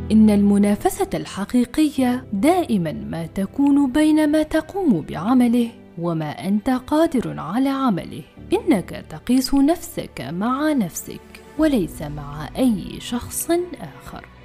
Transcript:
إن المنافسة الحقيقية دائما ما تكون بين ما تقوم بعمله وما أنت قادر على عمله. إنك تقيس نفسك مع نفسك وليس مع أي شخص آخر.